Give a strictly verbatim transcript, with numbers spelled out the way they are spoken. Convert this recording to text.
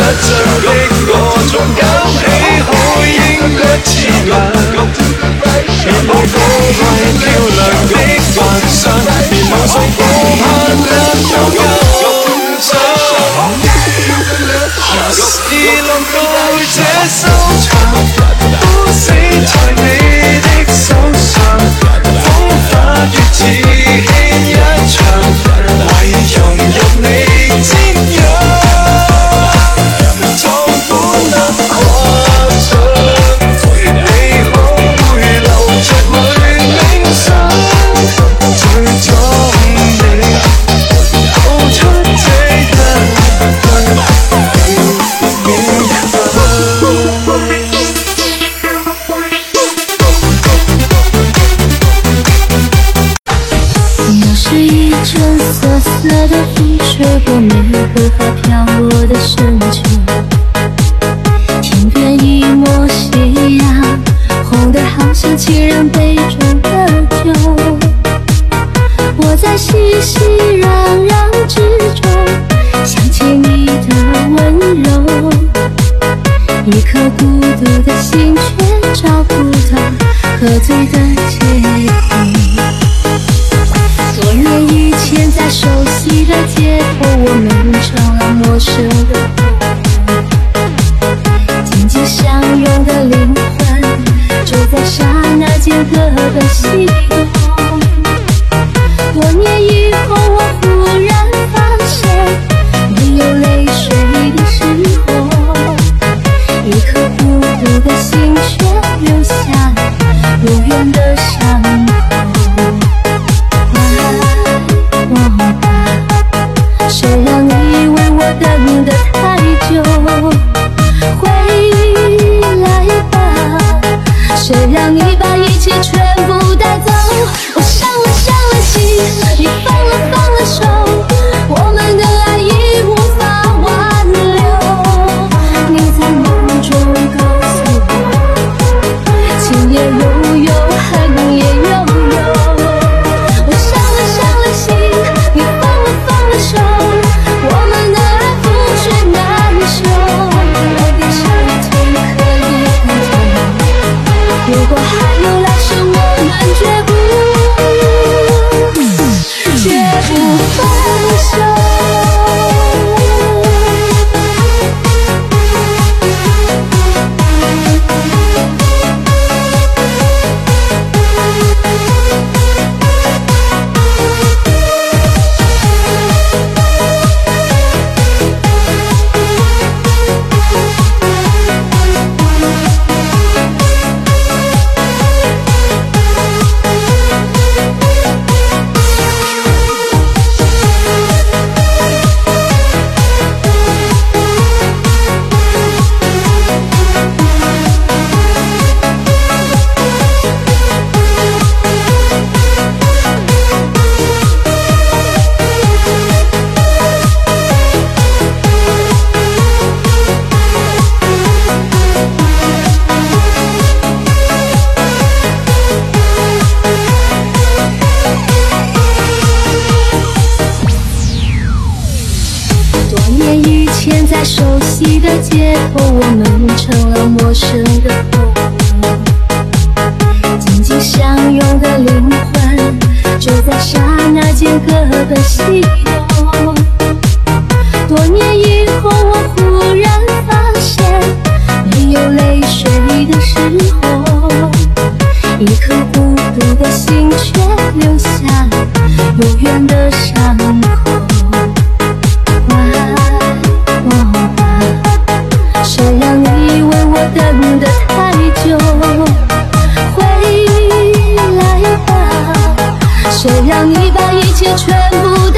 着的嗰種感喜好應該自問。別無高貴漂亮的幻想，別無數顧盼得到感想。何時能到這收場？都死在你的手上，風化月似牽一場，為融入你瞻仰。從本能跨出，你可會留着裏冥想，最終你道出這一句。 又是一阵瑟瑟的风吹过梅荷花飘落的深秋，天边一抹夕阳，红得好像情人杯中的酒。我在熙熙攘攘之中想起你的温柔，一颗孤独的心却找不到喝醉的借口。多年以前，在熟悉的街头，我们成了陌生的朋友。紧紧相拥的灵魂，就在刹那间各奔西东。多年以后，我忽然发现，没有泪水的时候，一颗孤独的心却留下永远的伤口。谁让你为我等得太久？回来吧，谁让你把一切全部带走？我伤了伤了心，你放了放了手，我们的爱已无法挽留。你在梦中告诉我，情也悠悠，恨也悠悠。我伤了伤了心，你放了放了手，我们的爱覆水难收。我闭上眼睛可以看透，如果还有来生，我们绝不绝不分手。在熟悉的街头，我们成了陌生的朋友。紧紧相拥的灵魂，就在刹那间各奔西东。多年以后，我忽然发现，没有泪水的时候，一颗孤独的心却留下永远的伤口。谁让你为我等得太久？回来吧，谁让你把一切全部